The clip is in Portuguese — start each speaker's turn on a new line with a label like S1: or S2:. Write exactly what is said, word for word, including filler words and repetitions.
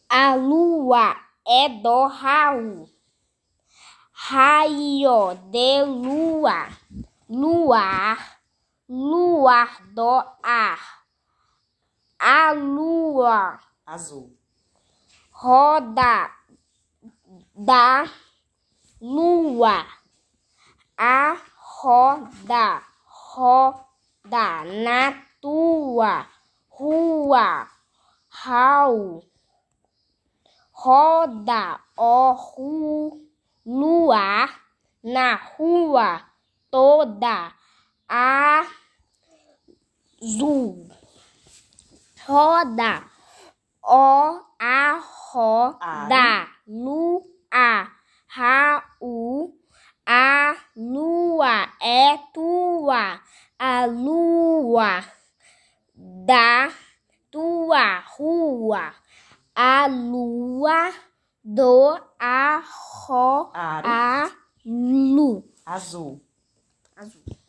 S1: A lua é do Raul. Raio de lua, luar, luar do ar. A lua
S2: azul.
S1: Roda da lua. A roda, roda na tua rua. Raul. Roda o ru, luar na rua toda azul. Roda o a roda lua. Raul. A lua é tua, a lua da tua rua. A lua do a ro, a lu.
S2: Azul.
S1: Azul.